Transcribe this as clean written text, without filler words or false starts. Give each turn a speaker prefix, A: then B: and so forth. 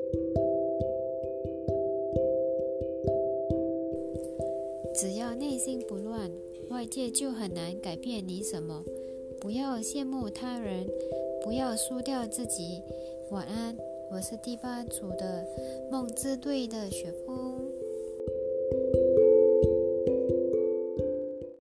A: 只要内心不乱，外界就很难改变你什么。不要羡慕他人，不要输掉自己。晚安，我是第8组的梦之队的雪夫。